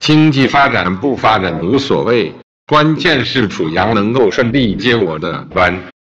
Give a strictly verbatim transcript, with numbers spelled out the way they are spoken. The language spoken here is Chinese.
经济发展不发展无所谓，关键是楚阳能够顺利接我的班。